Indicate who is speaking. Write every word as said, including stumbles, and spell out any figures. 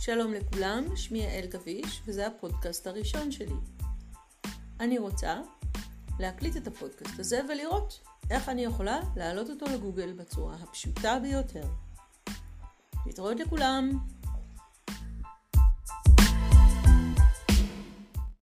Speaker 1: שלום לכולם, שמי יעל גביש וזה הפודקאסט הראשון שלי. אני רוצה להקליט את הפודקאסט הזה ולראות איך אני יכולה להעלות אותו לגוגל בצורה הפשוטה ביותר. להתראות לכולם.